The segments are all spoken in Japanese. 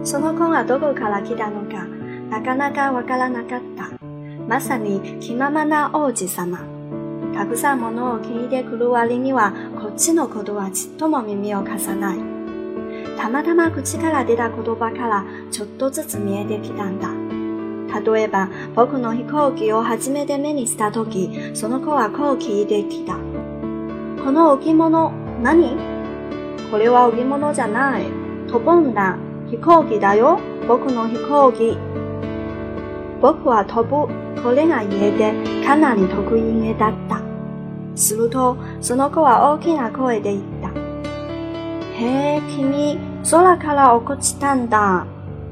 その子がどこから来たのか、なかなかわからなかった。まさに気ままな王子様。たくさんものを聞いてくる割には、こっちのことはちっとも耳を貸さない。たまたま口から出た言葉からちょっとずつ見えてきたんだ。例えば、僕の飛行機を初めて目にしたとき、その子はこう聞いてきた。この置物、何？これは置物じゃない。飛ぶんだ。飛行機だよ。僕の飛行機。僕は飛ぶ。これが言えて、かなり得意げだった。すると、その子は大きな声で言った。へえ、君、空から落っこちたんだ。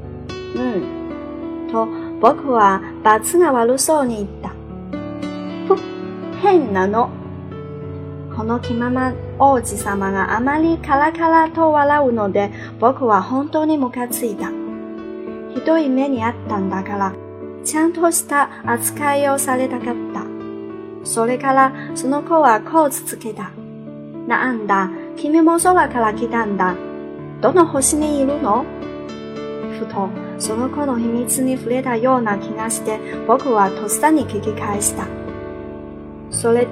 と、僕は罰が悪そうに言った。ふっ、変なの。この気まま王子様があまりカラカラと笑うので、僕は本当にムカついた。ひどい目にあったんだから、ちゃんとした扱いをされたかった。それからその子はこうつつけた。なんだ、君も空から来たんだ。どの星にいるの？ふと、その子の秘密に触れたような気がして、僕はとっさに聞き返した。それって、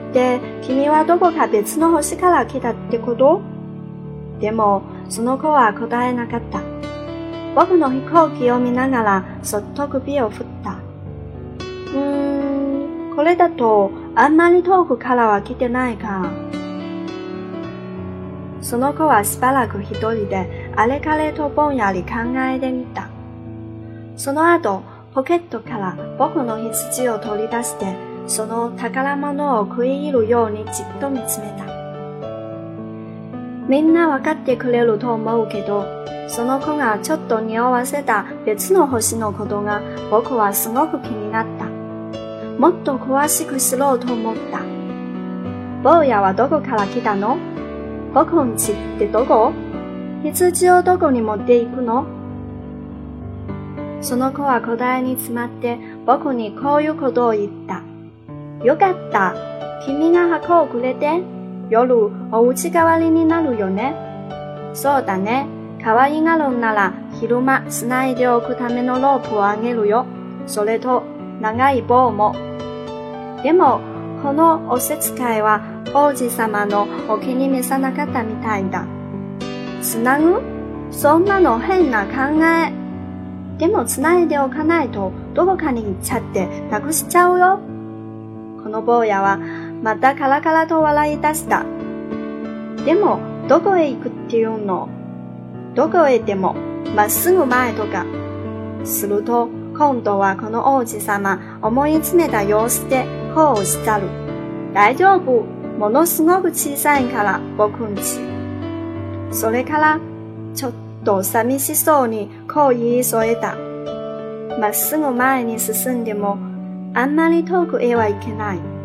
君はどこか別の星から来たってこと？でも、その子は答えなかった。僕の飛行機を見ながら、そっと首を振った。これだと、あんまり遠くからは来てないか。その子はしばらく一人で、あれかれとぼんやり考えてみた。その後、ポケットから僕の羊を取り出して、その宝物を食い入るようにじっと見つめた。みんなわかってくれると思うけど、その子がちょっと匂わせた別の星のことが僕はすごく気になった。もっと詳しく知ろうと思った。坊やはどこから来たの？僕ん家ってどこ？羊をどこに持っていくの？その子は答えに詰まって僕にこういうことを言った。よかった。君が箱をくれて、夜お家代わりになるよね。そうだね。可愛がるんなら昼間繋いでおくためのロープをあげるよ。それと長い棒も。でも、このおせつかいは王子様のお気に召さなかったみたいだ。つなぐ？そんなの変な考え。でも繋いでおかないとどこかに行っちゃってなくしちゃうよ。この坊やはまたカラカラと笑い出した。でも、どこへ行くっていうの？どこへでも、まっすぐ前とか。すると、今度はこの王子様、思い詰めた様子でこうおっしゃる。大丈夫。ものすごく小さいから、僕んち。それから、ちょっと寂しそうにこう言い添えた。まっすぐ前に進んでも、あんまり遠くへは行けない。